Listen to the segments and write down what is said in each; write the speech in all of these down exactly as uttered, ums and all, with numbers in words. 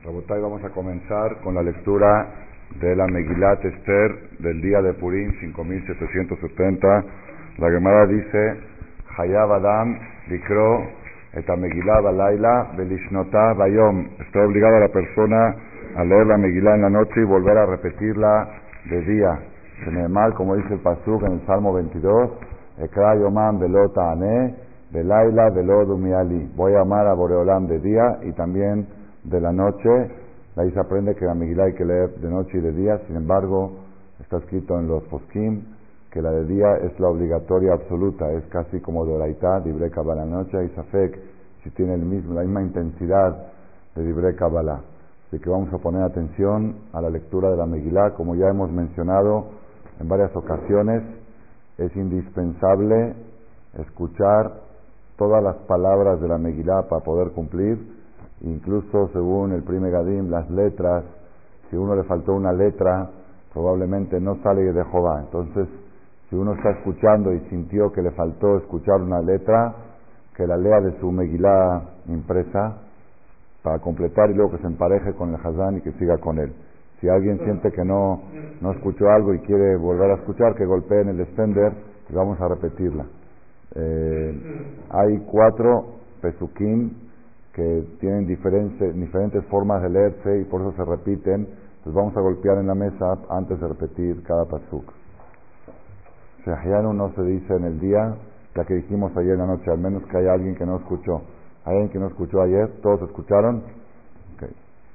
Rabotay, vamos a comenzar con la lectura de la Megilat Esther del día de Purim cinco mil setecientos setenta. La Gemara dice: Hayav Adam likro et Megilah balayla velishnotah bayom. Está obligada la persona a leer la Megilá en la noche y volver a repetirla de día. Mal, como dice el pasuk en el Salmo veintidós: Ekra yomam velo ta'aneh velayla velo dumiali. Voy a amar a Boreolam de día y también de la noche. Ahí se aprende que la Megilá hay que leer de noche y de día. Sin embargo, está escrito en los poskim que la de día es la obligatoria absoluta, es casi como de Oraitá, Divrei Kabbalah. La noche hay safek si tiene el mismo, la misma intensidad de Divrei Kabbalah. Así que vamos a poner atención a la lectura de la Megilá. Como ya hemos mencionado en varias ocasiones, es indispensable escuchar todas las palabras de la Megilá para poder cumplir. Incluso según el Pri Megadim, las letras, si uno le faltó una letra, probablemente no sale de Jehová. Entonces, si uno está escuchando y sintió que le faltó escuchar una letra, que la lea de su Megilá impresa para completar y luego que se empareje con el Hazán y que siga con él. Si alguien siente que no, no escuchó algo y quiere volver a escuchar, que golpee en el extender y vamos a repetirla. Eh, hay cuatro pesukim que tienen diferentes, diferentes formas de leerse y por eso se repiten. Entonces vamos a golpear en la mesa antes de repetir cada pasuk. Shehianu no se dice en el día, ya que dijimos ayer en la noche, al menos que haya alguien que no escuchó. ¿Hay alguien que no escuchó ayer? ¿Todos escucharon? Okay.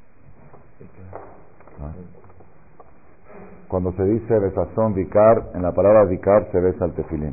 Ah. Cuando se dice besazón vikar, en la palabra vikar se besa el tefilín.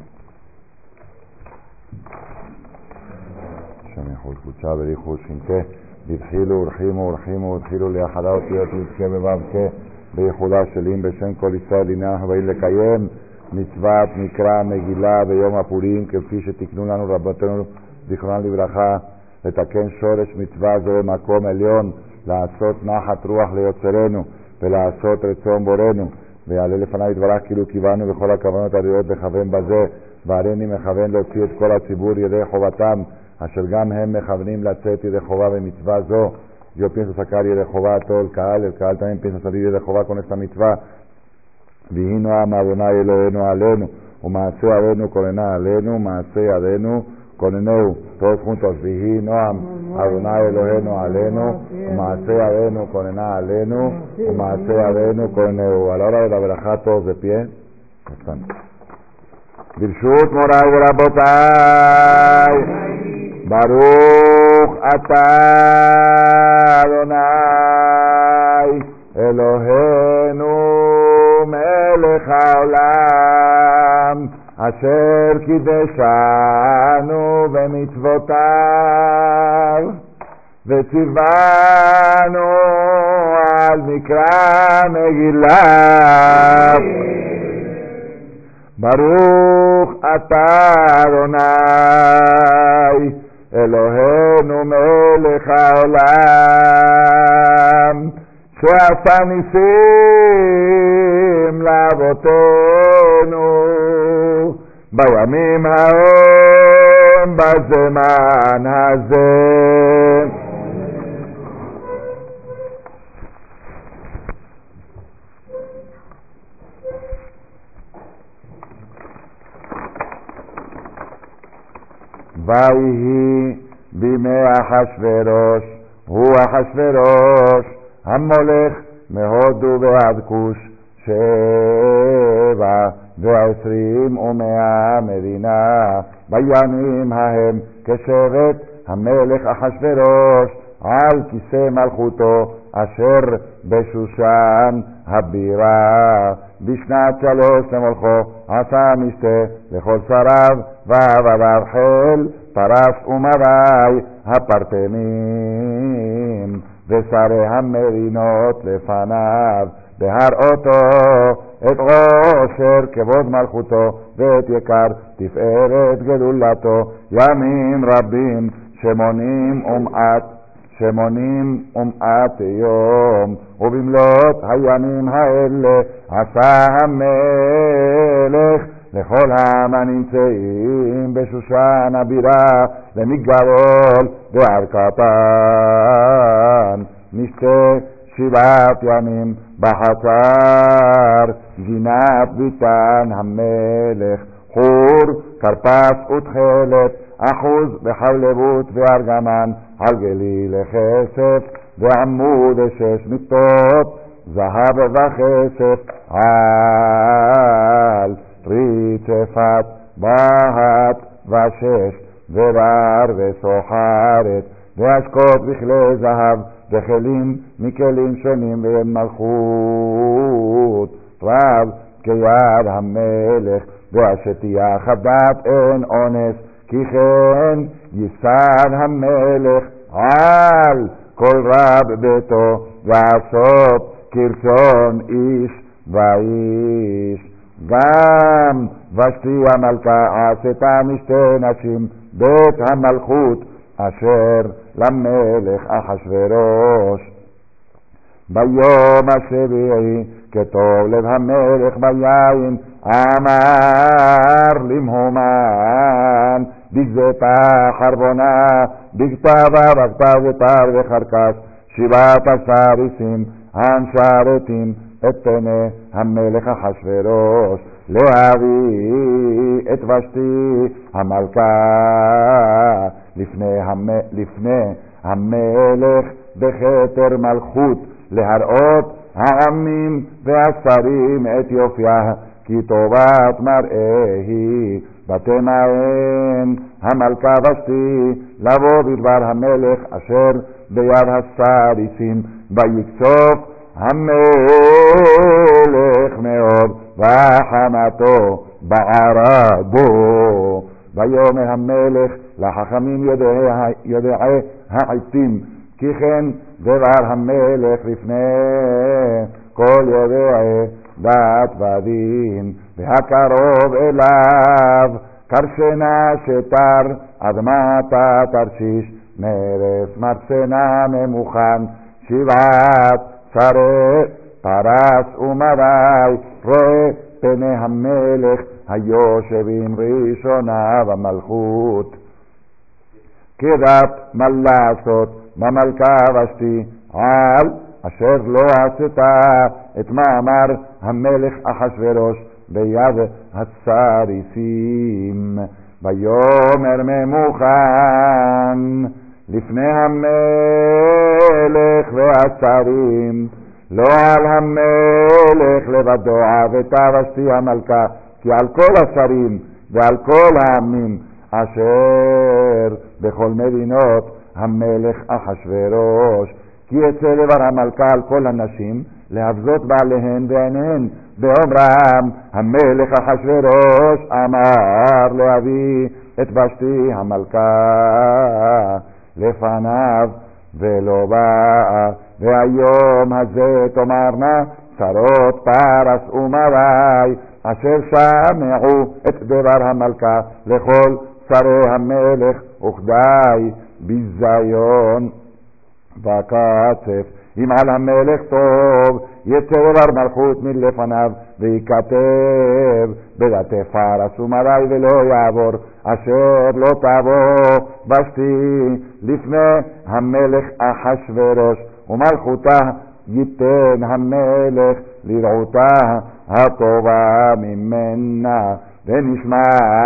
escuchaba dijo shinke dithilu urhimu urhimu udhilu liahadat yatke bebabke beihuda shelim beshem kol israel inah veil lekayem mitzvat mikra megillah beyom hapurim kefhi shetiknu lanu rabbatenu zichronam livracha letaken shoresh mitzvah zo bemakom elyon לעשות נחת רוח ליוצרנו ולעשות רצון בורנו ויעלה לפניו יתברך כאילו קיוונו בכל הכוונות הראויות לכוון בזה והריני מכוון להוציא את כל הציבור ידי חובתם אשר גם הם מכוונים לצאת ידי חובה במצווה זו. Yo pienso sacar yede חובה a todo el Kaal, el Kaal también piensa salir yede חובה con esta mitzvah. Vihino am Adonai Eloheinu alenu, umaaseh adenu konena alenu, umaaseh adenu koneneu. Todos juntos, Vihino am Adonai Eloheinu alenu, umaaseh adenu konena alenu, umaaseh adenu koneneu. A la hora de la verajá, todos de pie. Están. Birshut Moray Rabotay. Baruch atah Adonai Eloheinu melech haolam asher kideshanu bemitzvotav vetzivanu al mikra Megillah. Baruch atah Adonai Eloheinu melech haolam she'asa nisim לאבותינו בימים ההם בזמן הזה. ויהי בימי אחשוורוש, הוא אחשוורוש המולך מהודו ועד כוש, שבע ועשרים ומאה מדינה בימים ההם כשבט המלך אחשוורוש על כיסא מלכותו אשר בשושן הבירה. בשנת שלוש למולכו עשה משתה לכל שריו ועבדיו חיל פרס ומרי הפרטמים ושרי המרינות לפניו בהראותו את עושר כבוד מלכותו ואת יקר תפארת גדולתו ימים רבים שמונים ומעט שמונים ומעט יום ובמלאת הימים האלה עשה המלך לכל העם הנמצאים בשושן הבירה למגדול בהרכתן נשתה שבעת ימים בחצר, גינת ביתן המלך, חור, כרפס ותכלת, אחוז בחלבות וארגמן, על גליל לכסף, ועמוד שש מיטות, זהב וכסף, על רצפת בהת ושש, ובר וסוחרת, והשקות בכלי זהב, וכלים מכלים שונים ואין מלכות רב כיד המלך, והשתייה חדת אין אונס, כי כן יסד המלך על כל רב ביתו, ועשות כרצון איש ואיש. גם ושתי המלכה עשתה משתי נשים בית המלכות אשר למלך אחשוורוש. ביום השביעי כטוב לב המלך ביין, אמר למהומן בגזתה חרבונה, בכתבה בכתב ותר וחרקס, שבעת עשר איסים המשרתים את פני המלך אחשוורוש, להביא את ושתי המלכה לפני, המ... לפני המלך בכתר מלכות, להראות העמים והשרים את יופיה, כי טובת מראה היא. ותמאן המלכה ושתי לבוא בדבר המלך אשר ביד הסריסים, ויקצוף המלך מאוד וחמתו בערה בו. ויאמר המלך לחכמים יודעי, יודעי העתים, כי כן דבר המלך לפני כל יודעי דת ודין, והקרוב אליו קרשנה שתר אדמתה תרשיש, מרס מרצנה ממוכן, שבעת שרי פרס ומדי, רואה פני המלך היושבים ראשונה במלכות. כדת מה לעשות במלכה ושתי, על אשר לא עשתה את מאמר המלך אחשוורוש ביד הסריסים. ויאמר ממוכן לפני המלך והשרים, לא על המלך לבדו עבתה ושתי המלכה, כי על כל השרים ועל כל העמים אשר בכל מדינות המלך אחשוורוש, כי יצא דבר המלכה על כל הנשים להבזות בעליהן ועיניהן, באומרם המלך אחשוורוש אמר להביא את ושתי המלכה לפניו ולא באה. והיום הזה תאמרנה שרות פרס ומדי, אשר שמעו את דבר המלכה לכל שרי המלך, וכדי ביזיון וקצף. אם על המלך טוב יצא דבר מלכות מלפניו, וייכתב בדתי פרס ומדי ולא יעבור, אשר לא תבוא ושתי לפני המלך אחשוורוש, ומלכותה ייתן המלך לרעותה הטובה ממנה. ונשמע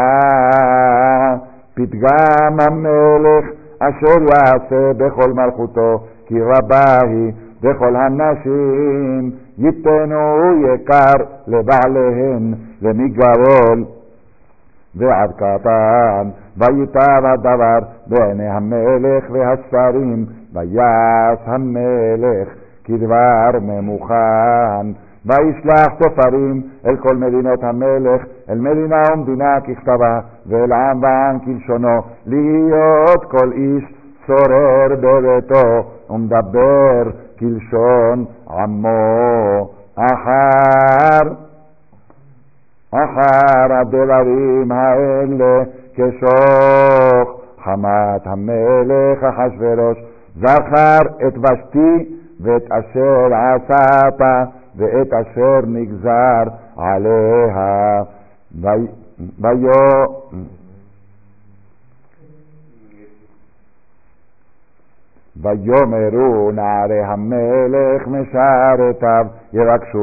פתגם המלך אשר יעשה בכל מלכותו, כי רבה היא בכל הנשים, ייתנו יקר לבעליהן למגרול ועד קטן. ויטב הדבר בעיני המלך והשרים, ויעש המלך כדבר ממוכן. וישלח תופרים אל כל מדינות המלך, אל מדינה ומדינה ככתבה, ואל עם ועם כלשונו, להיות כל איש שורר בביתו ומדבר כלשון עמו. אחר אחר הדברים האלה כשוך חמת המלך אחשוורוש, זכר את ושתי ואת אשר עשת ואת אשר נגזר עליה. ויו ויאמרו נערי המלך משרתיו יבקשו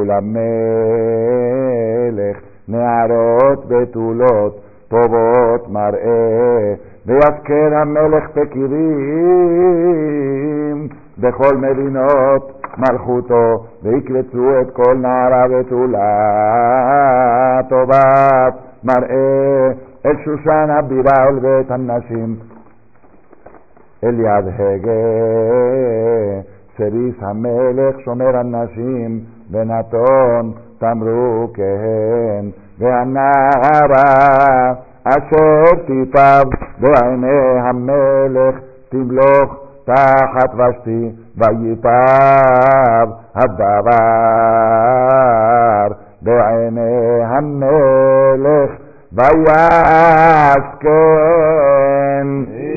למלך נערות בתולות טובות מראה ויזכר המלך בקירים בכל מדינות מלכותו ויקבצו את כל נערה בתולה טובת מראה אל שושן הבירה ולבית הנשים אל יד הגה סריס המלך שומר הנשים ונתון תמרוקהן והנערה אשר תיטב בעיני המלך תמלוך תחת ושתי ויטב הדבר בעיני המלך ויסכן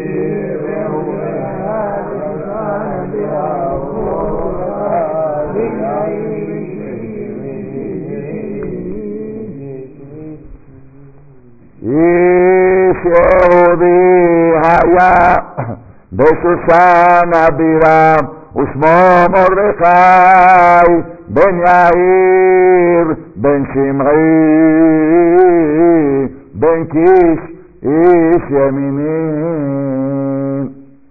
איש יהודי היה בשושן הבירה ושמו מרדכי בן יאיר בן שמעי בן קיש איש ימיני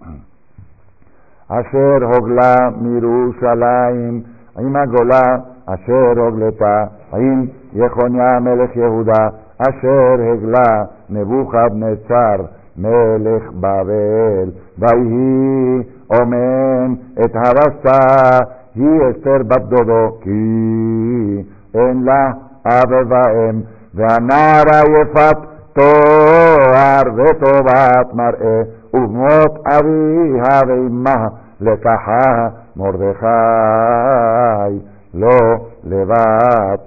אשר הוגלה מירושלים עם הגולה אשר הוגלתה עם יחוניה מלך יהודה אשר הגלה נבוכדנצר מלך בבל ויהי אומן את הרסה היא אסתר בת דודו כי אין לה אב ואם והנערה יפת תואר וטובת מראה ובמות אביה ואמה לקחה מרדכי לא לבד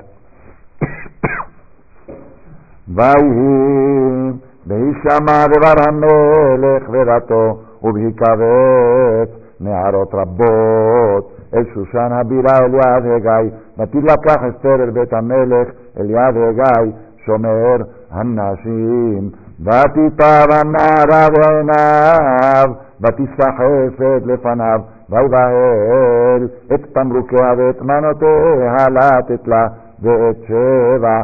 ויהי בהישמע דבר המלך ורתו ובהיקבץ נערות רבות אל שושן הבירה אל יד הגיא ותלקח אסתר אל בית המלך אל יד הגיא שומר הנשים ותיטב הנערה בעיניו ותסחפת לפניו ויבהל את תמרוקיה ואת מנותיה לתת לה ואת שבע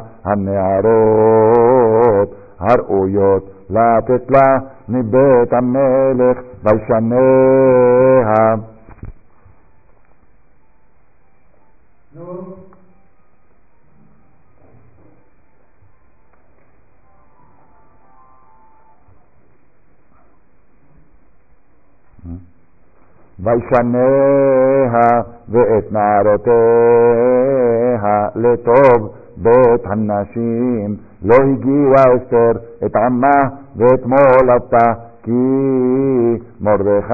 הנערות הראויות לתת לה מבית המלך וישניה וישניה ואת נערותיה לטוב בית הנשים לא הגיעה אסתר את עמה ואת מולדתה כי מרדכי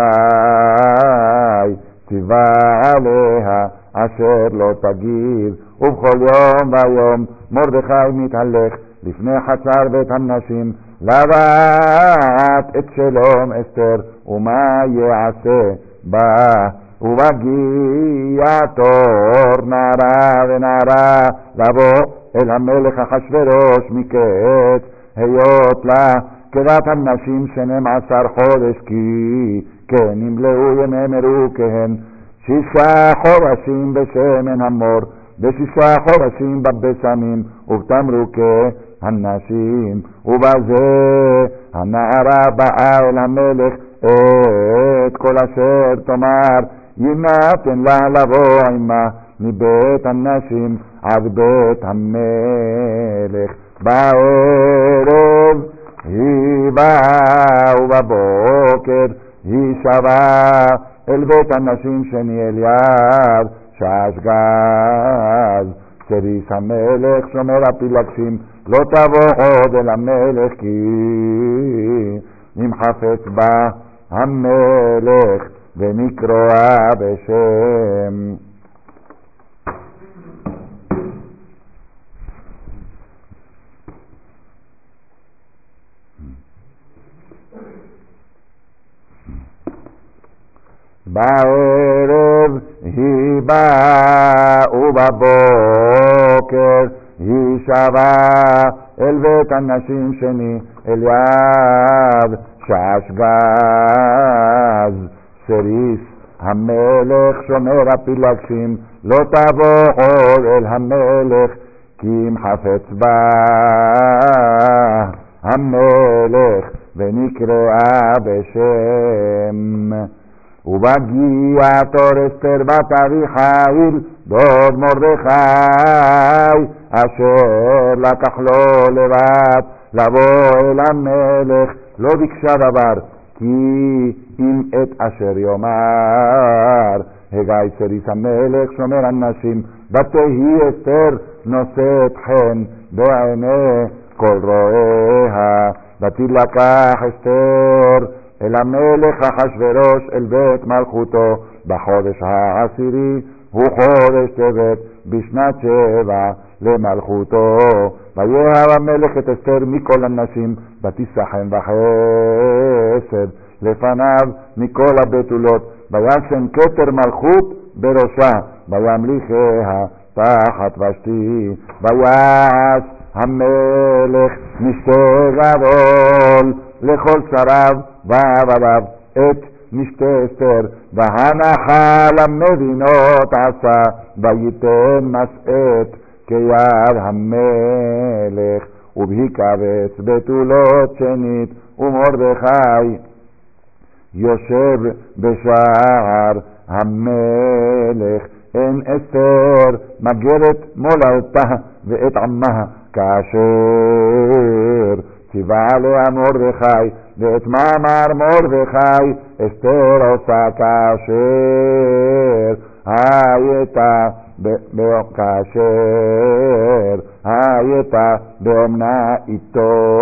ציווה עליה אשר לא תגיב ובכל יום ויום מרדכי מתהלך לפני חצר בית הנשים לבט את שלום אסתר ומה יעשה בה ובגיע תור נערה ונערה לבוא אל המלך אחשוורוש מקץ היות לה כדת הנשים שנים עשר חודש כי כן נמלאו ימי מרוכיהן שישה חודשים בשמן המור בשישה חודשים בבשמים ובתמרוקי הנשים ובזה הנערה באה אל המלך את כל אשר תאמר יינתן לה לבוא עמה מבית הנשים עד בית המלך בערב היא באה ובבוקר היא שבה אל בית הנשים שני אל יד שאשגז סריס המלך שומר הפילגשים לא תבוא עוד אל המלך כי אם חפץ בה המלך ונקראה בשם בערב היא באה ובבוקר היא שבה אל בית הנשים שני אל יד שאשגז סריס המלך שומר הפילגשים, לא תבוא עוד אל המלך, כי אם חפץ בה המלך ונקראה בשם. ובגיע תור אסתר בת אביחיל דוד מרדכי, אשר לקח לו לבד לבוא אל המלך, לא ביקשה דבר, כי אם את אשר יאמר. הגיא סריס המלך שומר הנשים, ותהי אסתר נושאת חן בעיני כל רואיה. ותילקח אסתר אל המלך אחשוורוש אל בית מלכותו בחודש העשירי, הוא חודש טבת בשנת שבע למלכותו. ויאהב המלך את אסתר מכל הנשים, ותשחם בחסד לפניו מכל הבתולות, וישם כתר מלכות בראשה, וימליכיה תחת ושתי. ויעש המלך משתה גדול לכל שריו ועבדיו את משתה אסתר, והנחה למדינות עשה, וייתן משאת כיד המלך, ובהיקבץ בתולות שנית. ומרדכי יושב בשער המלך, אין אסתר מגרת מולדתה ואת עמה, כאשר ציווה עליה מרדכי. ואת מאמר מרדכי אסתר עושה כאשר הייתה כאשר הייתה באומנה איתו.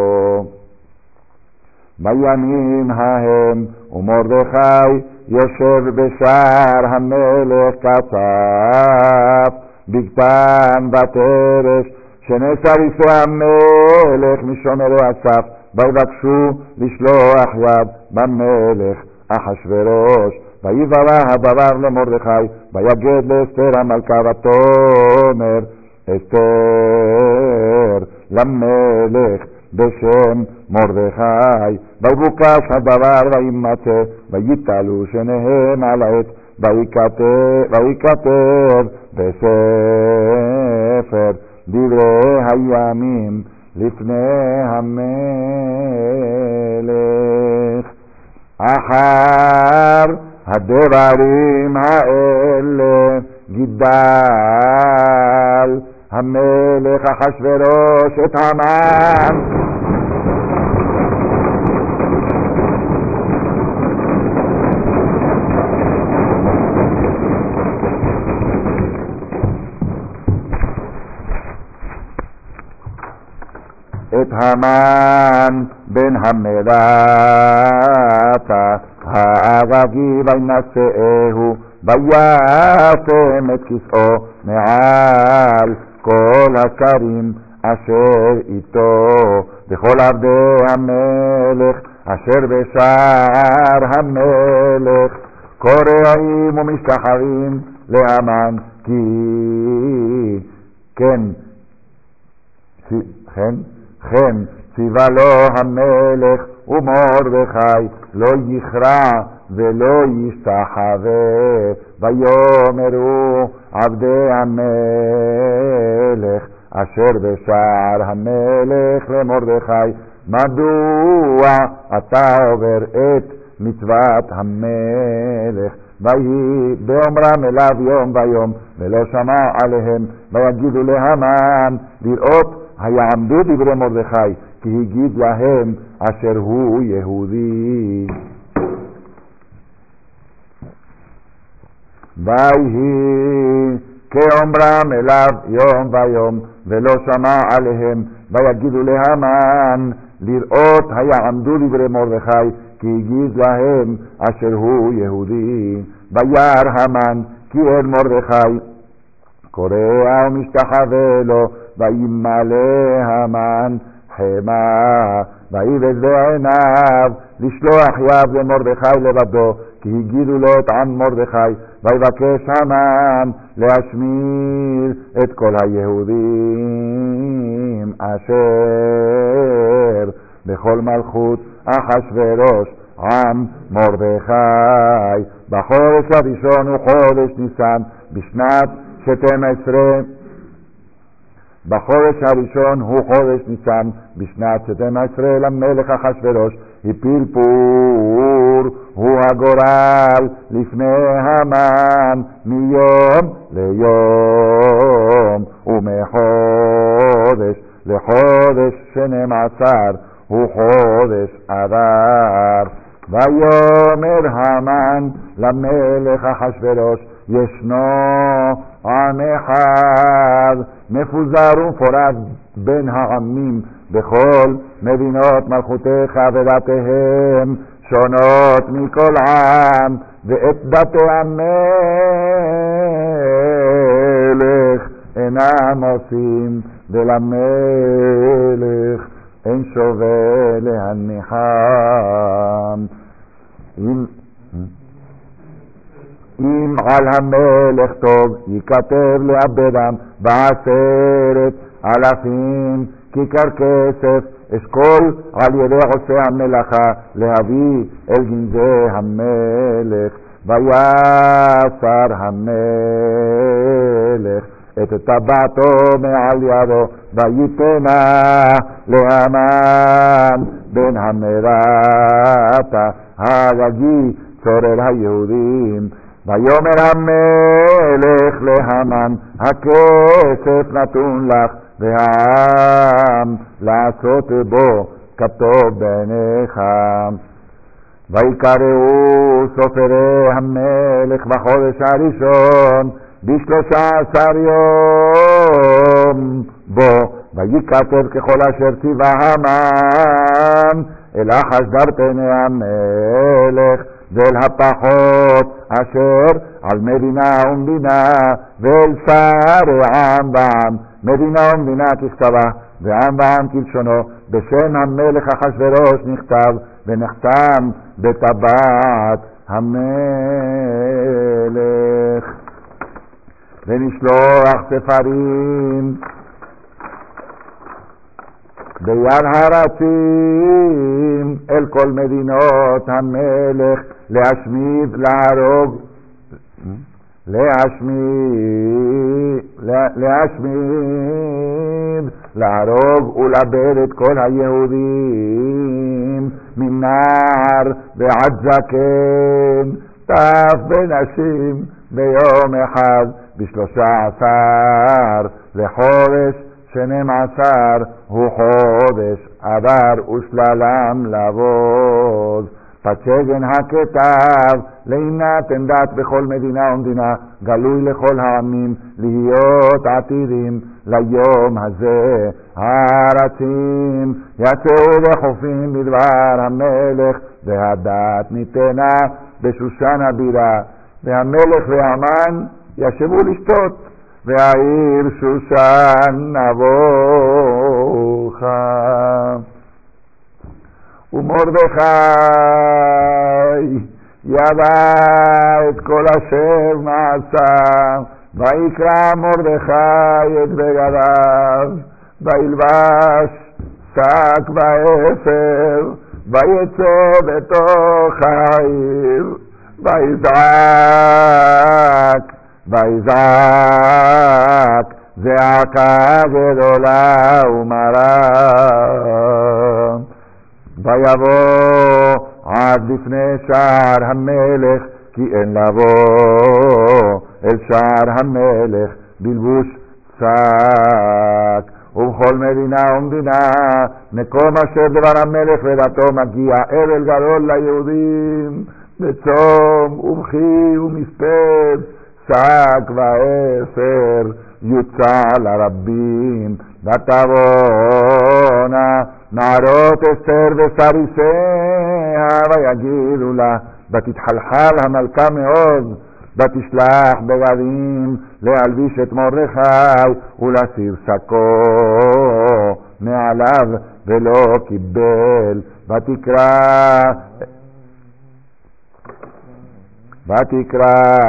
בימים ההם ומרדכי יושב בשער המלך, כצף בגתן ותרש שנסריסי המלך משומרי הסף, ויבקשו לשלוח יד במלך אחשוורוש. ויברא הדבר למרדכי, ויגד לאסתר המלכה ותאמר אסתר למלך בשם מרדכי. ויבוקש הדבר וימצא, ויתעלו שניהם על העץ, וייכתב בספר דברי הימים לפני המלך. אחר הדברים האלה גידל המלך אחשוורוש את המן את המן בן המדתה האגגי, וינשאהו וישם את כסאו מעל כל השרים אשר איתו, וכל עבדי המלך אשר בשער המלך קוראים ומשתחווים להמן. כי כן כן כן ציווה לו המלך ומרדכי לא יכרע ולא ישתחווה. ויאמרו עבדי המלך אשר בשער המלך למרדכי, מדוע אתה עובר את מצוות המלך? ויהי באומרם אליו יום ויום, ולא שמע עליהם. ויגידו להמן לראות היעמדו דברי מרדכי, כי הגיד להם אשר הוא יהודי. ויהי כאומרם אליו יום ויום, ולא שמע עליהם. ויגידו להמן לראות היעמדו דברי מרדכי, כי הגיד להם אשר הוא יהודי. וירא המן כי אין מרדכי קורא ומשתחווה לו, וימלא המן חמה, ויבז בעיניו לשלוח יד למרדכי לבדו, כי הגידו לו את עם מרדכי. ויבקש המן להשמיד את כל היהודים אשר בכל מלכות אחשוורוש, עם מרדכי. בחודש הראשון הוא חודש ניסן, בשנת שתים עשרה. בחודש הראשון הוא חודש ניסן, בשנת שתים עשרה למלך אחשוורוש הפיל פור, הוא הגורל לפני המן מיום ליום ומחודש לחודש שנים עשר הוא חודש אדר. ויאמר המן למלך אחשוורוש ישנו עם אחד מפוזר ומפורד בין העמים בכל מדינות מלכותיך, ודתיהם שונות מכל עם, ואת דתי המלך אינם עושים, ולמלך אין שווה להניחם. אם אם על המלך טוב ייכתב לאבדם בעשרת אלפים כיכר כסף, אשכול על ידי עושה המלאכה להביא אל גנזי המלך. ויסר המלך את טבעתו מעל ידו ויתנה להמן בן המרתה הגגי צורר היהודים. ויאמר המלך להמן הכסף נתון לך והעם לעשות בו כטוב בעיניך. ויקראו סופרי המלך בחודש הראשון בשלושה עשר יום בו, ויקטב ככל אשר ציווה המן אל אחשדר פני המלך ואל הפחות אשר על מדינה ומדינה ואל שרי עם ועם, מדינה ומדינה ככתבה ועם ועם כלשונו, בשם המלך אחשוורוש נכתב ונחתם בטבעת המלך. ונשלוח ספרים ביד הרצים אל כל מדינות המלך להשמיד, להרוג, להשמיד, להשמיד, להרוג ולאבד את כל היהודים מנער ועד זקן, טף ונשים ביום אחד בשלושה עשר לחודש שנים עשר הוא חודש אדר ושללם לעבוד. פצגן הכתב לעינת עמדת בכל מדינה ומדינה גלוי לכל העמים להיות עתידים ליום הזה. הארצים יצאו וחופים בדבר המלך והדת ניתנה בשושן הבירה, והמלך והמן ישבו לשתות והעיר שושן נבוכה. ומרדכי ידע את כל אשר נעשה, ויקרא מרדכי את בגדיו וילבש שק ואפר ויצא בתוך העיר ויזעק ויזעק זעקה גדולה ומרה. ויבוא עד לפני שער המלך, כי אין לבוא אל שער המלך בלבוש שק. ובכל מדינה ומדינה מקום אשר דבר המלך ודתו מגיע אבל גדול ליהודים בצום ובכי ומספד, שק ואפר יוצא לרבים. ותבואנה נערות אסתר וסריסיה ויגידו לה, ותתחלחל המלכה מאוד, ותשלח בגדים להלביש את מרדכי ולהסיר שקו מעליו ולא קיבל. ותקרא ותקרא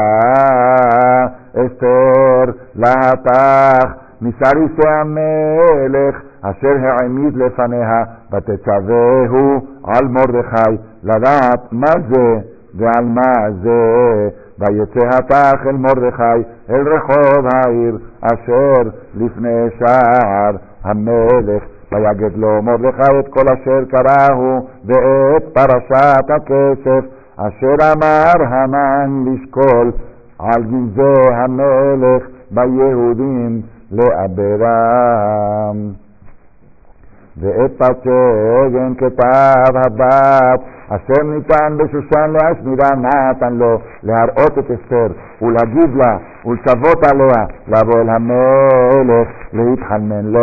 אסתר להתך מסריסי המלך אשר העמיד לפניה, ותצווהו על מרדכי, לדעת מה זה ועל מה זה. ויצא הפך אל מרדכי אל רחוב העיר, אשר לפני שער המלך. ויגד לו מרדכי את כל אשר קראו, ואת פרשת הכסף, אשר אמר המן לשקול על גנזי המלך ביהודים לעברם. ואת פצגן כתב הבת, אשר ניתן בשושן להשמידה, נתן לו להראות את אסתר ולהגיד לה ולצוות עליה לבוא אל המלך להתחנן לו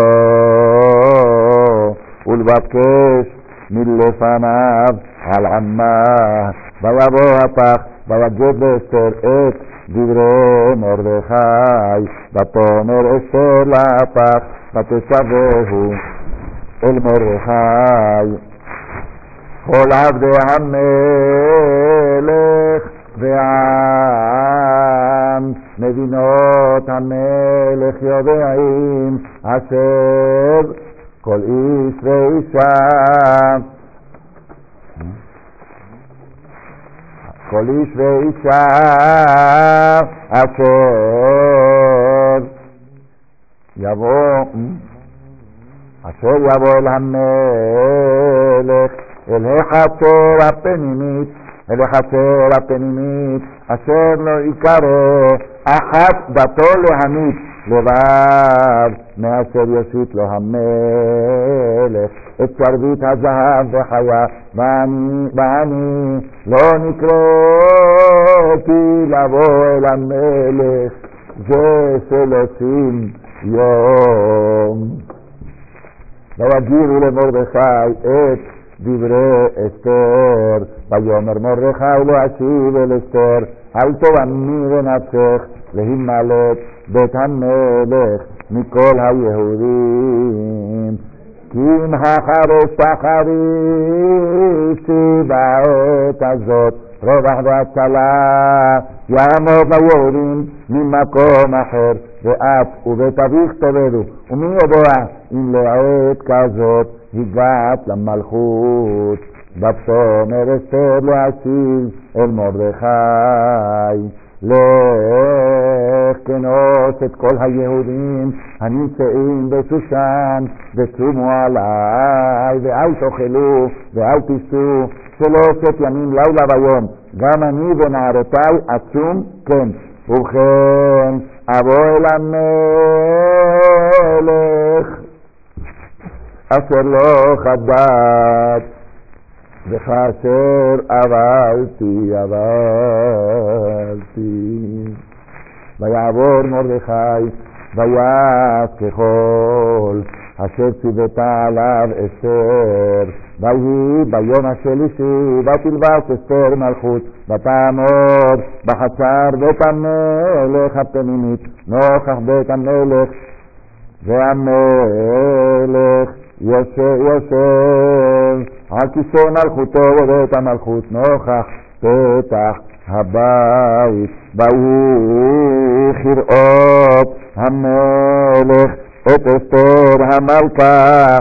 ולבקש מלפניו על עמה. ויבוא הפך ויגד לאסתר את דברי מרדכי, ותאמר אסתר להפך, ותצווהו אל מרדכי. כל עבדי המלך והעם, מדינות המלך יודעים, אשר כל איש ואישה, כל איש ואישה אשר יבוא, אשר יבוא אל המלך, אל החצר הפנימית, אל החצר הפנימית, אשר לא יקרא אחת דתו להמית לבד, מאשר יושיט לו המלך את שרביט הזהב וחיה, ואני, ואני לא נקראתי לבוא אל המלך זה שלושים יום. ויגידו למרדכי את דברי אסתר, ויאמר מרדכי לא אשיב אל אסתר, אל תאמני בנפשך להימלט בית המלך מכל היהודים, כי אם החרש תחרישי בעת הזאת רווח והצלה יעמוד ליהודים ממקום אחר, ואת ובית אביך תאבדו, ומי יודע אם לעת כזאת הגעת למלכות. ותאמר אסתר להשיב אל מרדכי, לך כנוס את כל היהודים הנמצאים בשושן, וצומו עלי, ואל תאכלו ואל תשתו שלושת ימים לילה ויום, גם אני ונערותי אצום כן. ובכן אבוא אל המלך אשר לא חדד, וכאשר עברתי עברתי. ויעבור מרדכי ויעש ככל אשר ציוותה עליו אסתר. ויהי ביום השלישי ותלבש אסתר מלכות, ותעמוד בחצר בית המלך הפנימית נוכח בית המלך, והמלך יושב יושב על כיסא מלכותו בבית המלכות נוכח פתח הבית. ויהי כראות המלך את אסתר המלכה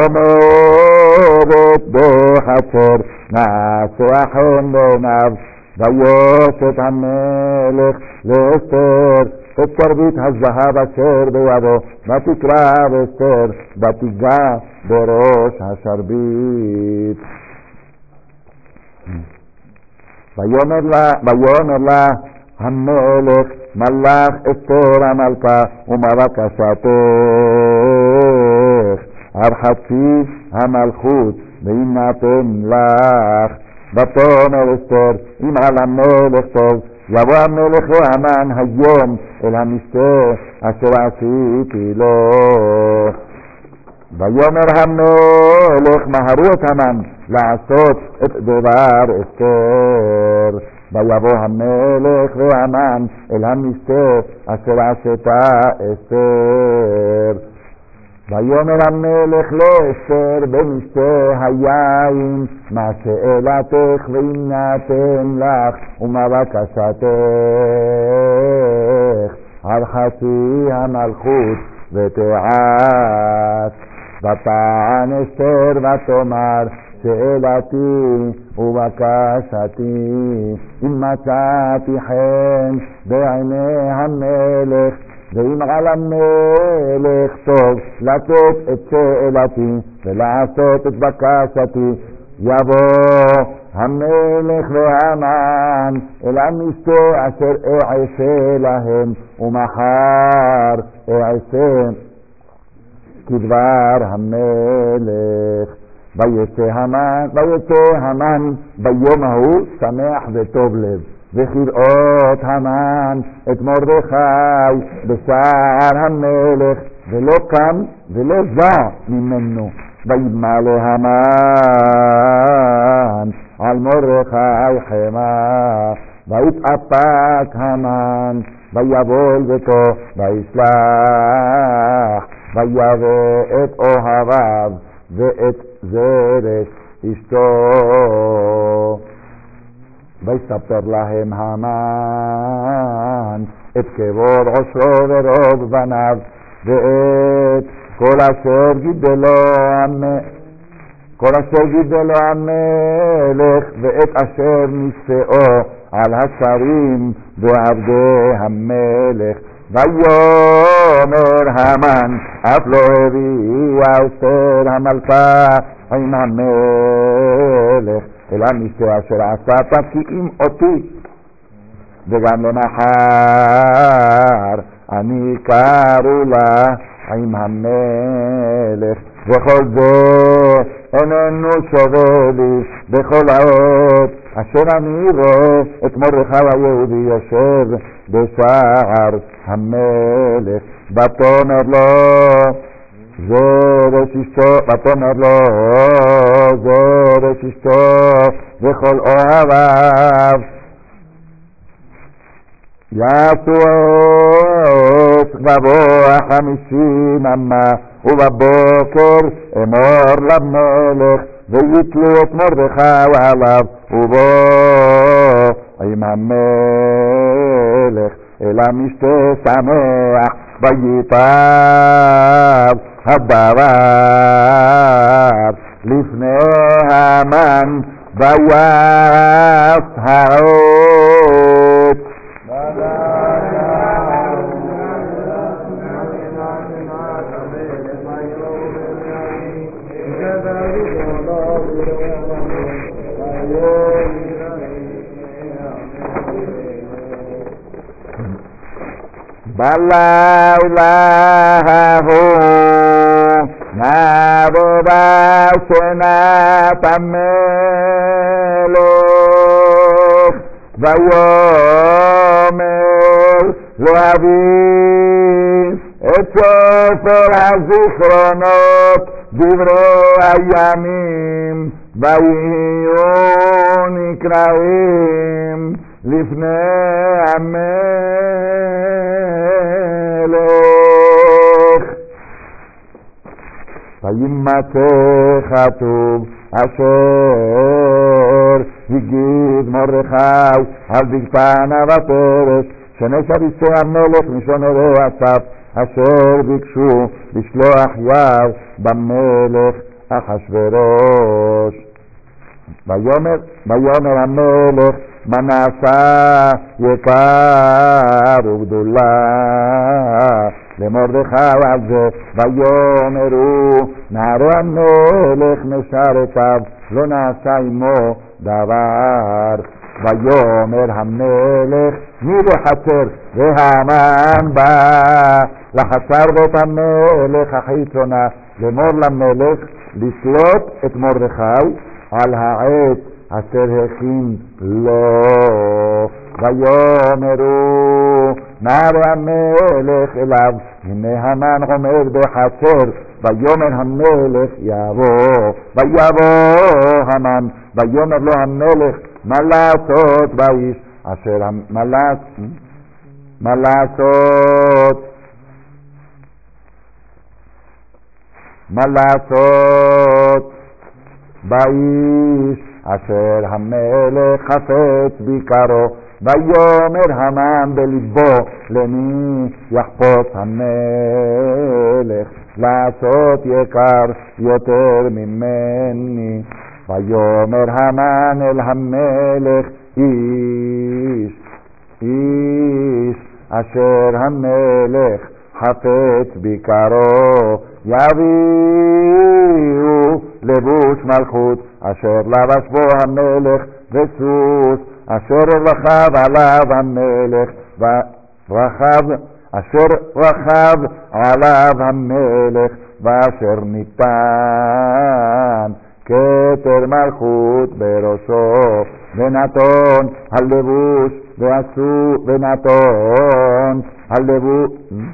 עומדת בחצר, נעשה חן בעיניו. ויושת המלך לאסתר את שרביט הזהב אשר בידו, ותקרא אסתר ותיגע בראש השרביט. ויאמר לה, ויאמר לה המלך, מלך אסתר המלכה, ומה בקשתך? על חצי המלכות ויינתן לך. ותאמר אסתר, אם על המלך טוב, יבוא המלך והמן היום אל המשתה אשר עשיתי לו. ויאמר המלך, מהרו את המן לעשות את דבר אסתר. ויבוא המלך והמן אל המשתה אשר עשתה אסתר. ויאמר המלך לאסתר במשתה היין, מה שאלתך ויינתן לך, ומה בקשתך? על חצי המלכות ותעש. ותען אסתר ותאמר שאלתי ובקשתי אם מצאתי חן בעיני המלך ואם על המלך טוב לתת את שאלתי ולעשות את בקשתי יבוא המלך והמן אל המשתה אשר אעשה להם ומחר אעשה כדבר המלך. ויצא המן, ויצא המן ביום ההוא שמח וטוב לב וכראות המן את מרדכי בשער המלך ולא קם ולא זע ממנו. וימלא המן על מרדכי חמה ויתאפק המן ויבוא אל ביתו ויסלח ויבא את אוהביו ואת זרש אשתו. ויספר להם המן את כבוד עושרו ורוב בניו ואת כל אשר גידלו המלך כל אשר גידלו המלך ואת אשר נישאו על השרים ועבדי המלך. ויאמר המן אף לא הביאה אסתר המלכה עם המלך אלא המשתה אשר עשתה כי אם אותי וגם למחר אני קראו לה עם המלך וכל זה איננו שווה לי בכל העת אשר אני רואה את מרדכי היהודי יושב בשער המלך. ותאמר לו זרש אשתו ותאמר לו זרש אשתו וכל אוהביו יעשו עת ובוא החמישים אמה ובבוקר אמור למלך ויתלו את מרדכי עליו ובוא עם המלך אל המשתה שמח ויטב הדבר לפני המן ויעש העת. בלילה ההוא נבוא שנת המלך ויאמר להביא את ספר הזיכרונות דברי הימים ויהיו נקראים לפני המלך. וימצא כתוב אשר הגיד מרדכי על בגתנה ופרש שנשב איסי המלך משומרי אסף אשר ביקשו לשלוח יד במלך אחשוורוש. ויאמר ויאמר המלך מה נעשה יקר וגדולה למרדכי על זה. ויאמרו נערי המלך משרתיו לא נעשה עמו דבר. ויאמר המלך מי בחצר והמן בא לחצר בית המלך החיצונה לאמור למלך לשלוט את מרדכי על העט אשר הכין לו. ויאמרו נערי המלך אליו הנה המן עומד בחצר. ויאמר המלך יבוא ויבוא המן. ויאמר לו המלך מה לעשות באיש אשר מה מה לעשות מה לעשות באיש אשר המלך חפץ ביקרו ויאמר המן בלבו, למי יחפוץ המלך לעשות יקר יותר ממני. ויאמר המן אל המלך, איש, איש אשר המלך חפץ ביקרו, יביאו לבוש מלכות אשר לבש בו המלך, וסוס אשר רכב עליו המלך, ורחב אשר רכב עליו המלך, ואשר ניתן כתר מלכות בראשו, ונתון הלבוש ועשו, ונתון הלבוש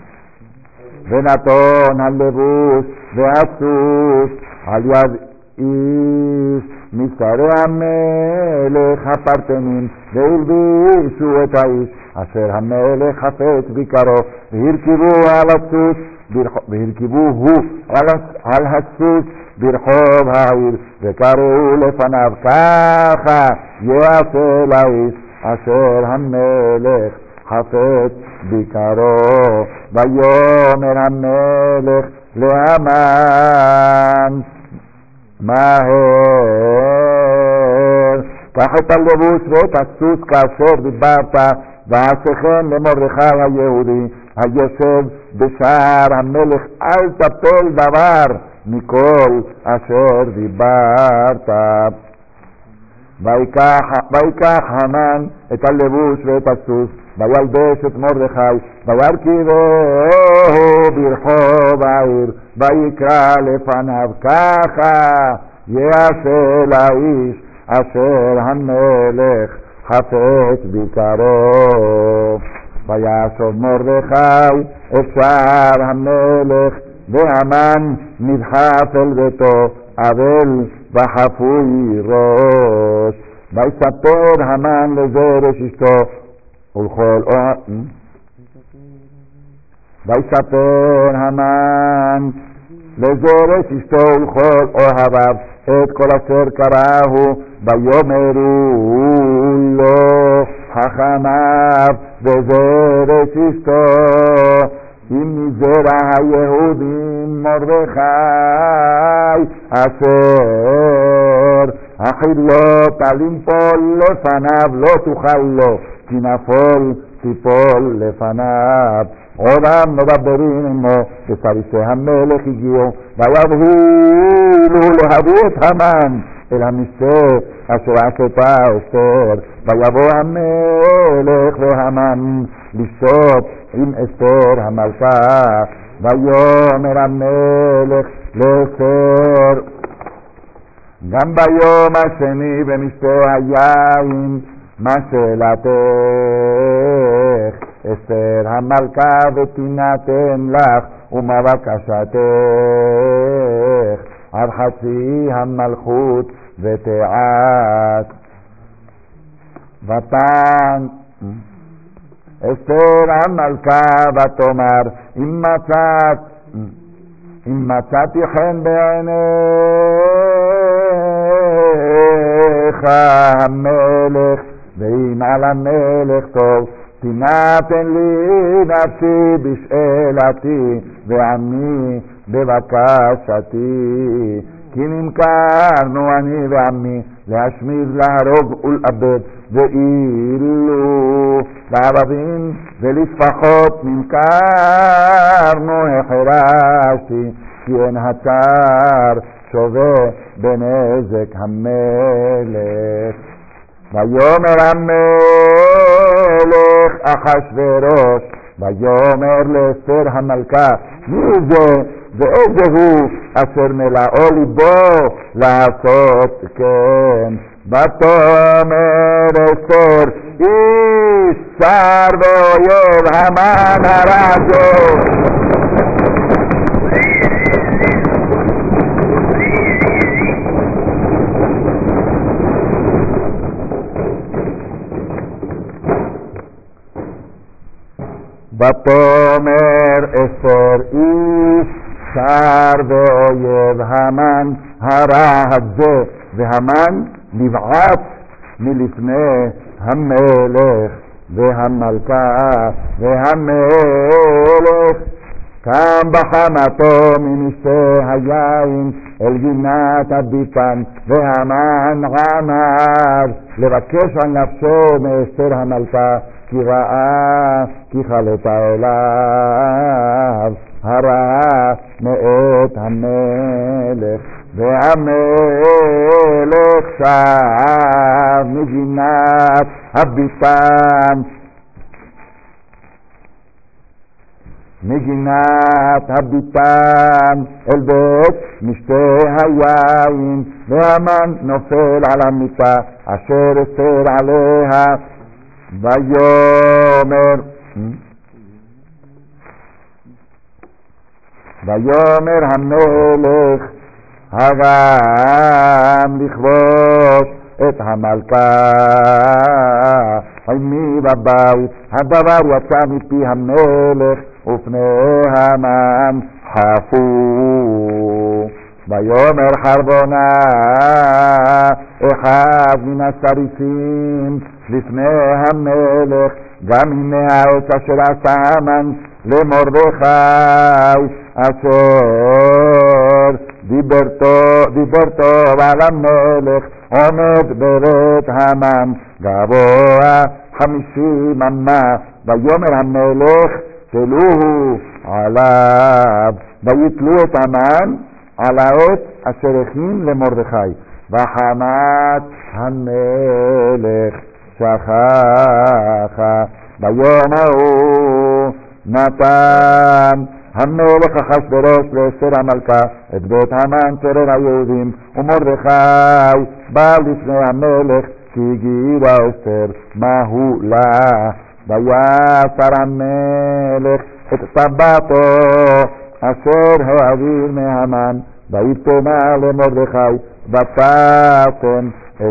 ונתון הלבוש והסוס על יד איש משרי המלך הפרטנים, והלבישו את האיש אשר המלך חפץ ביקרו, והרכבו על הסוס, והרכבו הוא על הסוס ברחוב העיר, וקראו לפניו, ככה יעשה לאיש אשר המלך חפץ ביקרו. ויאמר המלך להמן, מהר קח את הלבוש ואת הסוס כאשר דיברת, ועשה כן למרדכי היהודי היושב בשער המלך, אל תפל דבר מכל אשר דיברת. ויקח המן את הלבוש ואת הסוס, וילבש את מרדכי, וירכבהו ברחוב העיר, ויקרא לפניו, ככה יעשה לאיש אשר המלך חפץ ביקרו. וישוב מרדכי את שער המלך, והמן נדחף אל ביתו, אבל וחפוי ראש. ויספר המן לזרש אשתו ולכל אוהב, ויספר המן לזרש אשתו ולכל אוהביו את כל אשר קראהו, ויאמרו לו חכמיו וזרש אשתו, אם מזרע היהודים מרדכי אשר החילוט על ינפול לפניו לא תוכל לו, כי נפול תיפול לפניו. עודם מדברים עמו, וסריסי המלך הגיעו, ויבהולו להביא את המן אל המשתה אשר עשתה אסתר. ויבוא המלך והמן לשתות עם אסתר המלכה. ויאמר המלך לאסתר, גם ביום השני במשתה היין, מה שאלתך אסתר המלכה, ותינתן לך, ומה בקשתך עד חצי המלכות ותעש. ותען אסתר המלכה ותאמר, אם מצאת אם מצאתי חן בעיניך המלך, ואם על המלך טוב, תינתן לי נפשי בשאלתי, ועמי בבקשתי. כי נמכרנו אני ועמי להשמיד, להרוג ולאבד, ואילו לערבים ולספחות נמכרנו, החרשתי, כי אין הצער שווה בנזק המלך. ויאמר המלך אחשוורוש, ויאמר לאסתר המלכה, מי זה ואיזה הוא אשר מלאו ליבו לעשות כן? ותאמר אסתר, איש צר ואויב המן הרשע. ותאמר אסתר, איש צר ואויב המן הרע הזה, והמן נבעט מלפני המלך והמלכה והמלך קם בחמתו ממשתה היין אל גינת הביתן והמן עמד לבקש על נפשו מאסתר המלכה כי ראה כי חלתה אליו הרעה מאת המלך והמלך שב מגינת הביתן מגינת הביתן אל בית משתה היין והמן נופל על המיטה אשר אסתר עליה ויאמר ויאמר המלך הגם לכבוש את המלכה עמי בבית הדבר יצא מפי המלך ופני המן חפו ויאמר חרבונה אחד מן השריפים לפני המלך גם הנה העץ אשר עשה המן למרדכי אשר דיבר טוב על המלך עומד בבית המן גבוה חמישים אמה ויאמר המלך תלוהו עליו ויתלו את המן על העץ אשר הכין למרדכי וחמת המלך שכחה ביום ההוא נתן המלך אחשוורוש לאסתר המלכה את בית המן צורר היהודים ומרדכי בא לפני המלך כי הגידה אסתר מהו לה ויסר המלך את טבעתו אשר העביר מהמן ויתנה למרדכי ותתן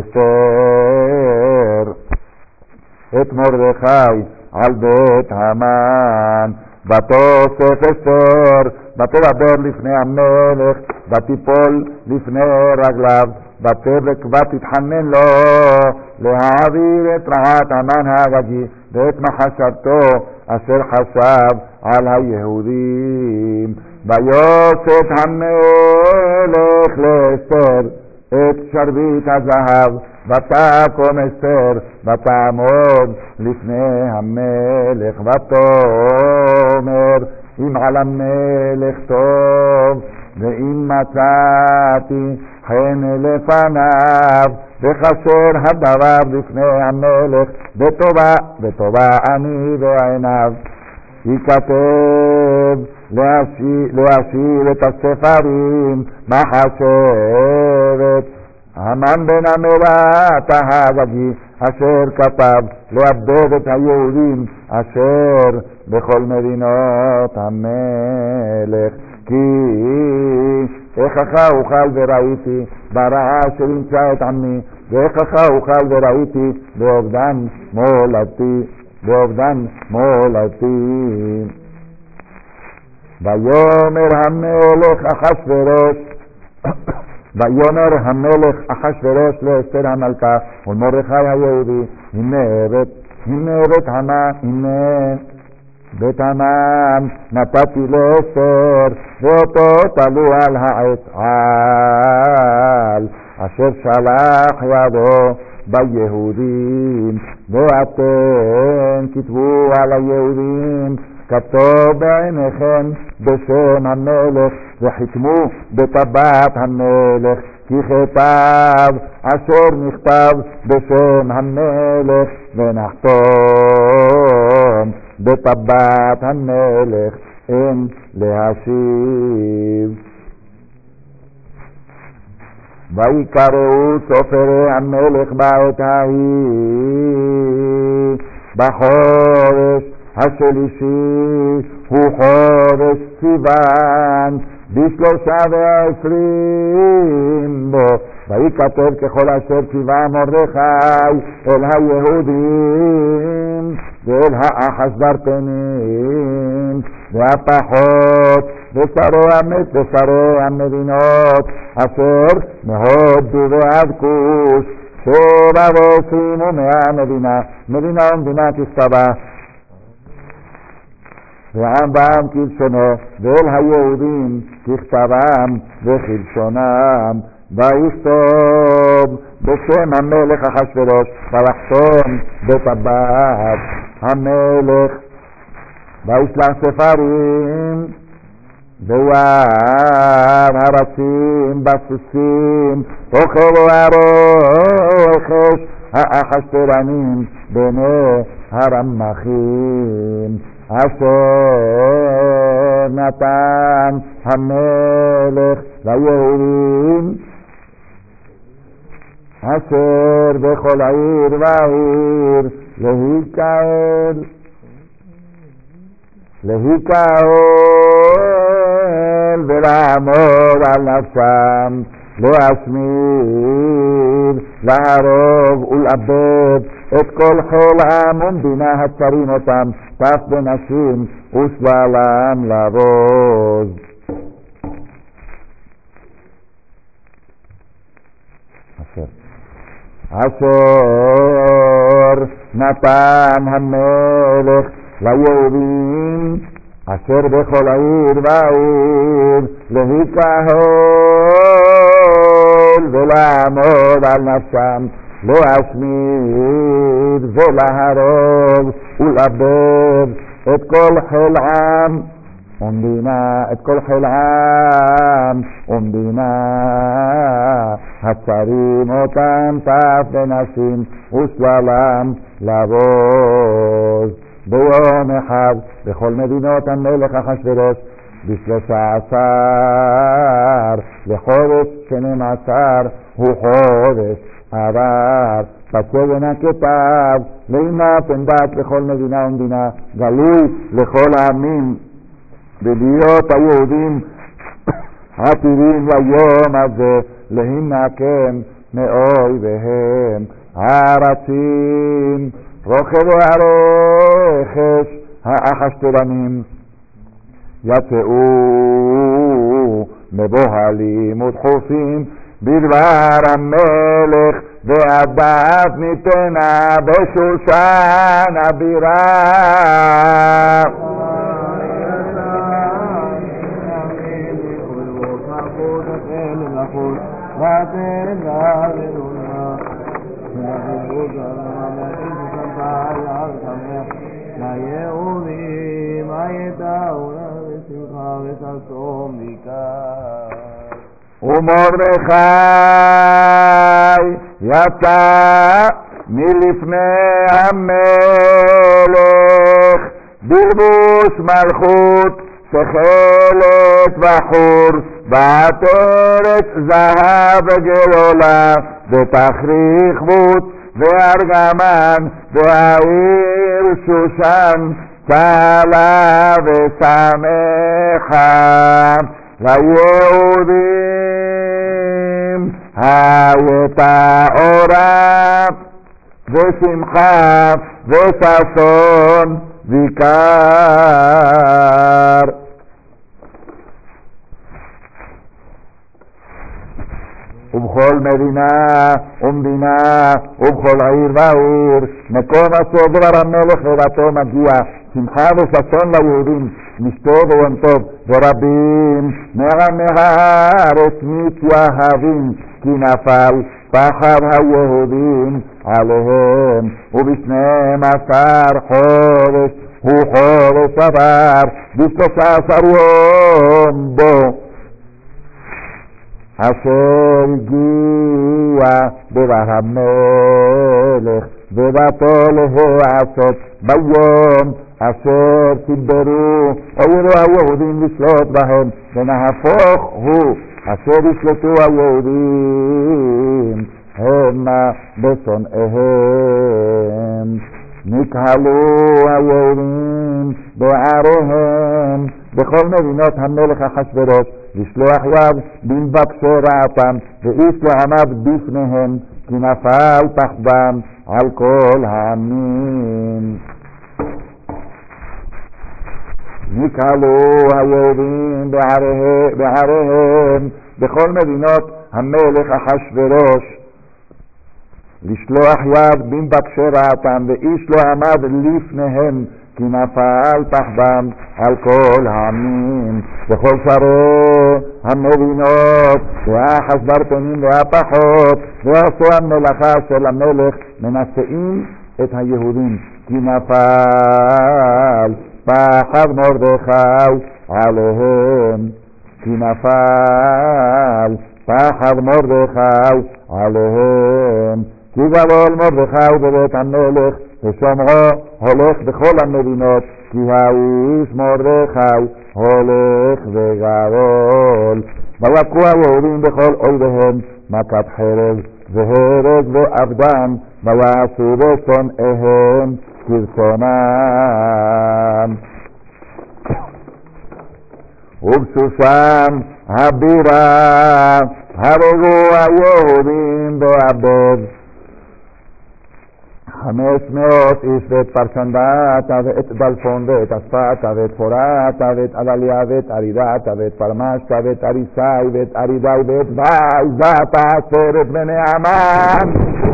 אסתר את מרדכי על בית המן ותוסף אסתר ותדבר לפני המלך ותיפול לפני רגליו ותבק ותתחנן לו להעביר את רעת המן האגגי ואת מחשבתו אשר חשב על היהודים ויוסף המלך לאסתר את שרביט הזהב ותקום אסתר ותעמוד לפני המלך ותאמר אם על המלך טוב ואם מצאתי חן לפניו וכאשר הדבר לפני המלך וטובה וטובה אני בעיניו ייכתב להשאיר, להשאיר את הספרים מחשבת המן בן המלך ההגגי אשר כתב לאבד את היהודים אשר בכל מדינות המלך כי איכך אוכל וראיתי ברעה אשר ימצא את עמי ואיכך אוכל וראיתי באובדן מולדתי באובדן מולדתי ויאמר המלך אחשוורוש ויאמר המלך אחשוורוש לאסתר המלכה ולמרדכי היהודי הנה בית הנה בית המן הנה בית המן נתתי לאסתר ואותו תלו על העץ על אשר שלח ידו ביהודים ואתם כתבו על היהודים כתוב בעיניכם בשם המלך וחתמו בטבעת המלך כי כתב אשר נכתב בשם המלך ונחתום בטבעת המלך אין להשיב ויקראו סופרי המלך בעת ההיא בחודש השלישי הוא חודש סיוון בשלושה ועשרים בו ויקטב ככל אשר ציווה מרדכי אל היהודים ואל האחשוורושים והפחות ושרי המדינות אשר מהודו ועד כוש שבע ועשרים ומאה מדינה, מדינה ומדינה ככתבה. ועם בעם כלשונו, ואל היהודים ככתבם וכלשונם, ויכתוב בשם המלך אחשוורוש, ויחתום בטבעת המלך, וישלח ספרים ויער הרצים בסוסים, אוכל והרוכש האחשוורונים בני הרמחים, אשר נתן המלך ליהודים, אשר בכל עיר ועיר להיקהל, להיקהל ולעמוד על נפשם, להשמיד, להרוג ולאבד את כל חיל העם ומדינה הצרים אותם, טף בנשים ושבלם לבוז. אשר אשר נתן המלך ליהודים, אשר בכל עיר ועיר להיקהל ולעמוד על נפשם, להשמיד ולהרוג ולאבד את כל חיל עם ומדינה, את כל חיל עם ומדינה הצרים אותם, טף בנשים ושבלם לבוז. ביום אחד בכל מדינות המלך אחשוורוש, בשלושה עשר לחודש שנים עשר, הוא חודש עבר, פצבן הכתב לאמא פנדת לכל מדינה ומדינה, גלוי לכל העמים, ולהיות היהודים עתידים ליום הזה להינקם מאויביהם הרצים, רוכב והרכש האחשוורונים יצאו מבוהלים ודחופים בדבר המלך, והדעת ניתנה בשושן הבירה. ומרדכי יצא מלפני המלך בלבוש מלכות תכלת וחור, בעטרת זהב וגלולה, בתכריך בוט וארגמן, והעיר שושן צהלה ושמחה. ליהודים הייתה אורה ושמחה וששון ויקר. ובכל מדינה ומדינה ובכל עיר ועיר מקום אשר דבר המלך ובתו מגיע שמחה וששון ליהודים, משתו ויום טוב, ורבים מעמי הארץ מתייהבים, כי נפל פחד היהודים עליהם. ובשנים עשר חודש הוא חודש עבר, בשלושה עשר יום בו אשר הגיע דבר המלך ובתו להעשות ביום אשר תדברו אוירו היהודים לשלוט בהם, ונהפוך הוא אשר ישלטו היהודים המה בשונאיהם. נקהלו היהודים בעריהם בכל מדינות המלך אחשוורוש, לשלוח יד במבקשי רעתם, ואיש לא עמד בפניהם, כי נפל פחדם על כל העמים. נקהלו היהודים בעריהם, בעריהם בכל מדינות המלך אחשוורוש, לשלוח יד במבקשי רעתם, ואיש לא עמד לפניהם, כי נפל פחדם על כל העמים, וכל שרי המדינות, והחסברתנים והפחות, ועשו המלאכה של המלך, מנשאים את היהודים, כי נפל פחד מרדכי עליהם, כי נפל פחד מרדכי עליהם, כי גדול מרדכי בבית המלך, ושומרו הולך בכל המדינות, כי האיש מרדכי הולך וגדול. ויכו היהודים בכל אויביהם מכת חרב והרג ואבדן, ויעשו בשונאיהם כרצונם. ובשושן הבירה הרגו היהודים בעבד חמש מאות איש, ואת פרשנדתה ואת דלפון ואת אספתה ואת פורתה ואת עדליה ואת ארידתה ואת פרמשתה ואת אריסאי ואת ארידאי ואת בעזתה עשרת בני המן.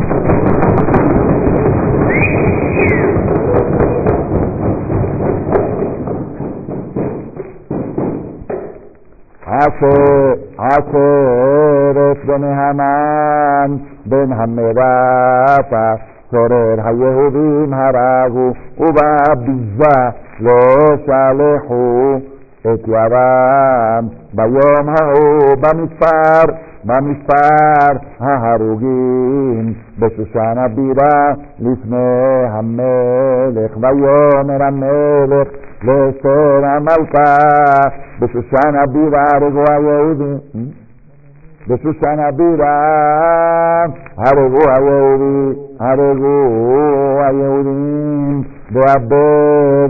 עשרת בני המן בן המדתה צורר היהודים הרגו, ובביזה לא שלחו את ידם. ביום ההוא במספר, במספר ההרוגים בשושן הבירה לפני המלך. ויאמר המלך לאסתר המלכה, בשושן הבירה הרגו היהודים, בשושן הבירה הרגו היהודים, הרגו היהודים בעבד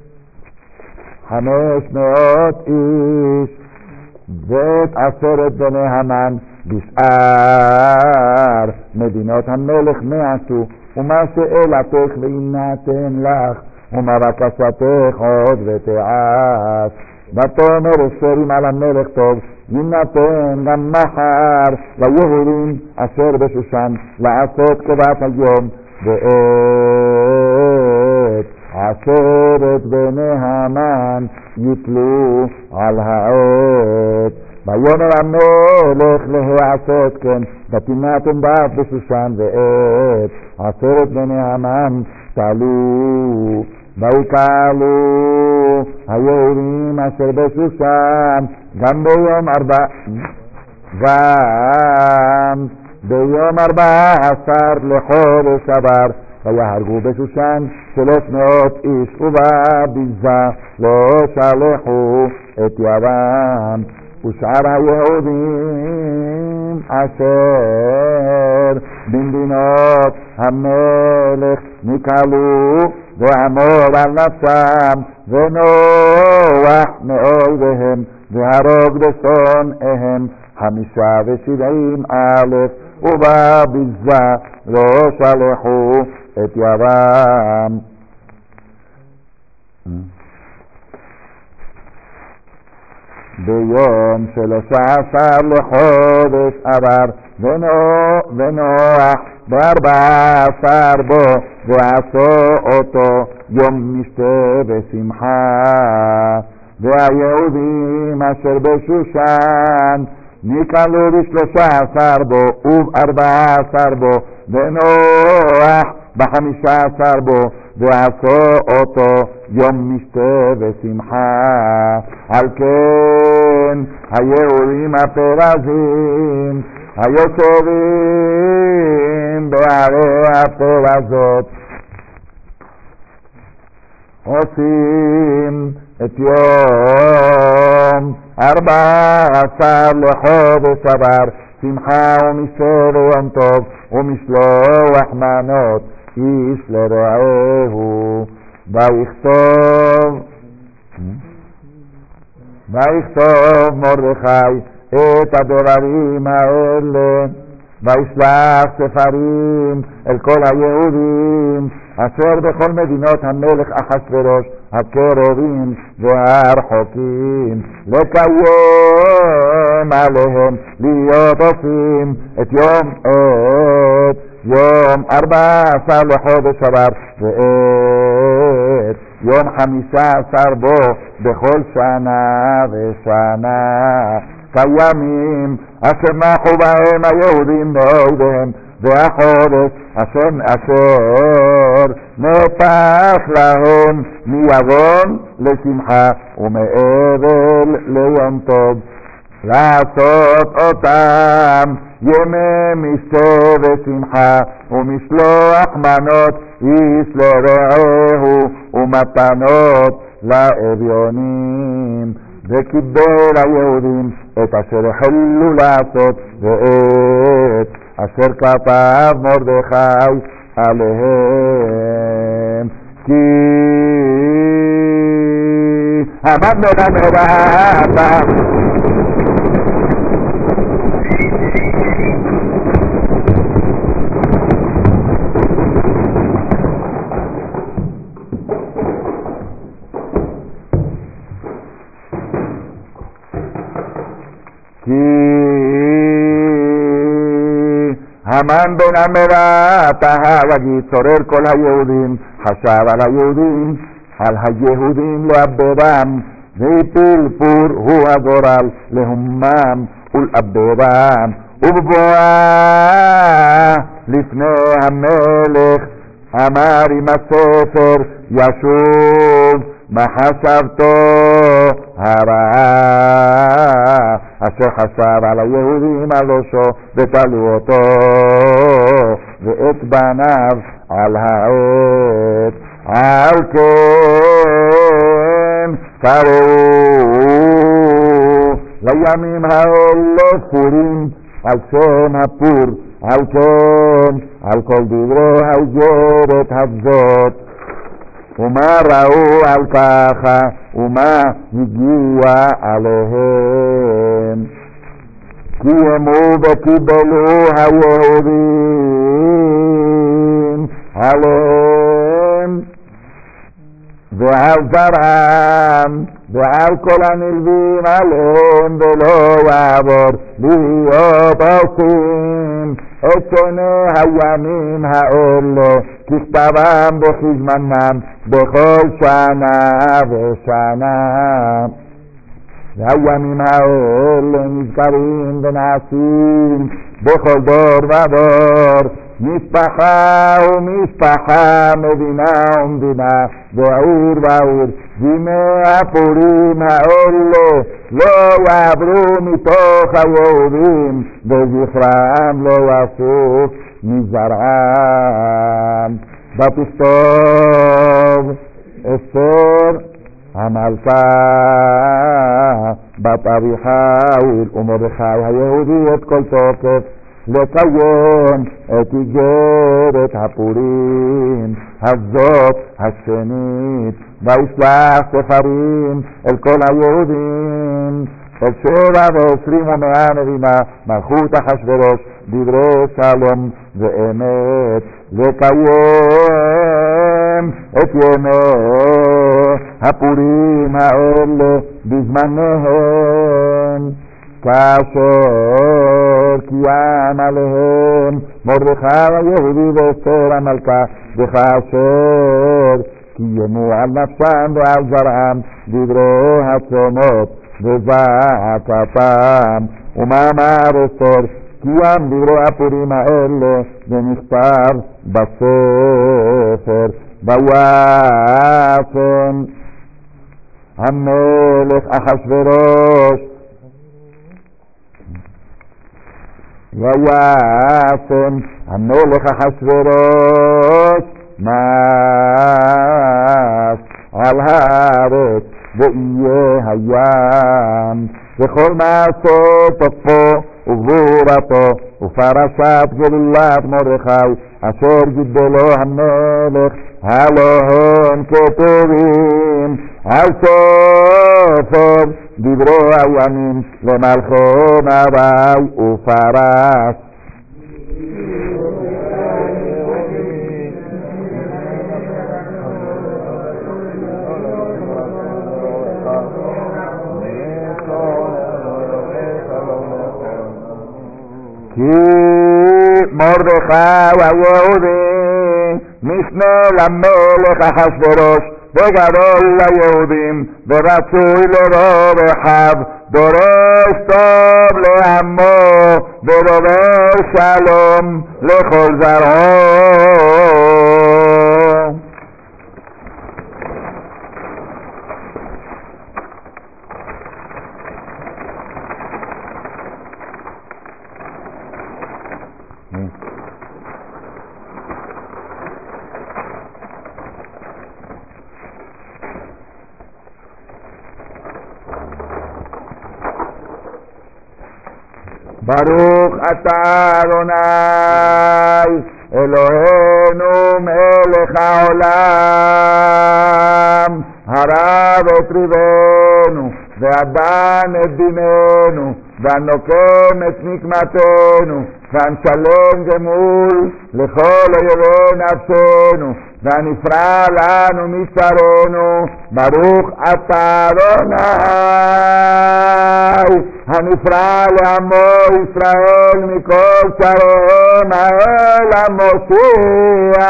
חמש מאות איש, ואת עשרת בני המן בשאר מדינות המלך נעשו, ומה שאלתך ויינתן לך, ומה בקשתך עוד ותעש. ותאמר אסתר על המלך טוב, יינתן גם מחר ליהודים אשר בשושן לעשות כבת היום, ואת עשרת בני המן יתלו על העץ. ויאמר המלך להעשות כן, ותינתן בת בשושן, ואת עשרת בני המן תלו. ויקהלו היהודים אשר בשושן גם ביום ארבע גם ביום ארבע עשר לחודש עבר, ויהרגו בשושן שלוש מאות איש, ובביזה לא שלחו את ידם. ושאר היהודים אשר במדינות המלך נקהלו ועמוד על נפשם, ונוח מאויביהם והרוג בשונאיהם חמישה ושבעים אלף, ובביזה לא שלחו את ידם. ביום שלושה עשר לחודש עבר, ונוח בארבע עשר בו, ועשו אותו יום משתה ושמחה. והיהודים אשר בשושן נקהלו בשלושה עשר בו ובארבע עשר בו, ונוח בחמישה עשר בו, ועשו אותו יום משתה ושמחה. על כן היהודים הפרזים היושבים בערי הפרזות עושים את יום ארבע עשר לחודש עבר שמחה ומשתה ויום טוב, ומשלוח מנות איש לרעהו. ויכתוב ויכתוב מרדכי את הדברים האלה, וישלח ספרים אל כל היהודים אשר בכל מדינות המלך אחשוורוש הקרובים והרחוקים, לקיים עליהם להיות עושים את יום את יום ארבע עשר לחודש עבר ועת יום חמישה עשר בו בכל שנה ושנה כימים אשר נחו בהם היהודים מאויביהם והחודש אשר אשר נהפך להם מיגון לשמחה ומאבל ליום טוב לעשות אותם ימי משתה ושמחה ומשלוח מנות איש לרעהו ומתנות לאביונים וקיבל היהודים את אשר החלו לעשות ואת אשר כתב מרדכי עליהם כי המן מלמדה כי המן בן המרה תהה וגיד צורר כל היהודים חשב על היהודים על היהודים לאבדם והפיל פור הוא הגורל להומם ולאבדם ובבואה לפני המלך אמר עם הספר ישוב מה חשבתו הרעה אשר חשב על היהודים על ראשו ותלו אותו ואת בניו על העץ על כן קראו לימים האלה פורים על שם הפור על כן על כל דברי האיגרת הזאת ומה ראו על ככה ומה הגיע עליהם קיימו וקיבלו היהודים עליהם ועל זרעם ועל כל הנלווים עליהם ולא יעבור להיות עושים את שני הימים האלה ככתבם וכזמנם בכל שנה ושנה והימים האלה נזכרים ונעשים בכל דור ודור משפחה ומשפחה מדינה ומדינה ועיר ועיר וימי הפורים האלה לא יעברו מתוך היהודים וזכרם לא יסוף מזרעם ותכתוב אסתר המלכה בת אביחיל ומרדכי היהודי את כל תוקף לקיים את איגרת הפורים הזאת השנית וישלח ספרים אל כל היהודים אל שבע ועשרים ומאה נבינה מלכות אחשוורוש דברי שלום ואמת לקיים את ימי הפורים האלה בזמניהם כאשר קיים עליהם מרדכי היהודי ואסתר המלכה וכאשר קיימו על נפשם ועל זרעם דברי הצומות וזעקתם ומאמר אסתר קיים דברי הפורים האלה ונכתב בספר וישם המלך אחשוורוש וישם המלך אחשוורוש מס על הארץ ויהיה הים וכל מעשה תוקפו וגבורתו ופרשת גלולת מרדכי אשר גידלו המלך הלא הם כתובים על ספר דברי הימים למלכו נבי ופרש כי מרדכי היהודי, משנה למלך אחשוורוש, וגדול ליהודים, ורצוי לרוב אחיו, דורש טוב לעמו, ודובר שלום לכל זרעו. ברוך אתה אדוני אלוהינו מלך העולם, הרב את ריבנו והדן את דיננו, והנוקם את נקמתנו, והנשלם גמול לכל אויבי נפשנו, והנפרע לנו מצרנו. ברוך אתה אדוני הנפרע לעמו ישראל מכל צריהם, האל המושיע.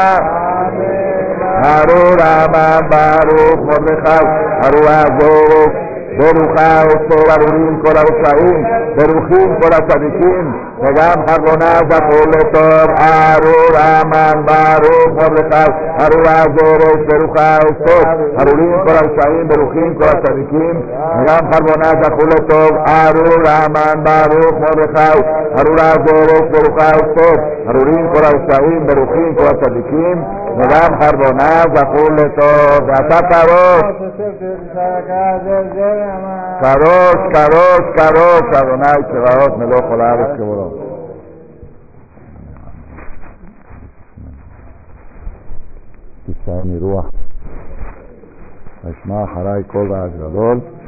ארור רבא ברוך מרדכי ארור הזורק, ברוכה אסתר ארורים כל הרשעים, ברוכים כל הצדיקים, וגם חרבונה זכו לטוב. ארור המן ברוך מרדכי ארור הזורק, ברוכה אסתר ארורים כל הרשעים, ברוכים כל הצדיקים, וגם חרבונה זכו לטוב. ארור המן ברוך מרדכי ארור הזורק, ברוכה אסתר ארורים כל הרשעים, ברוכים כל הצדיקים, וגם חרבונה זכו לטוב. ואתה קרוש קרוש קרוש קרוש אדוני צבאות מלוך כל הארץ כבודו. תצא מרוח, אשמע אחרי כל רעש גדול.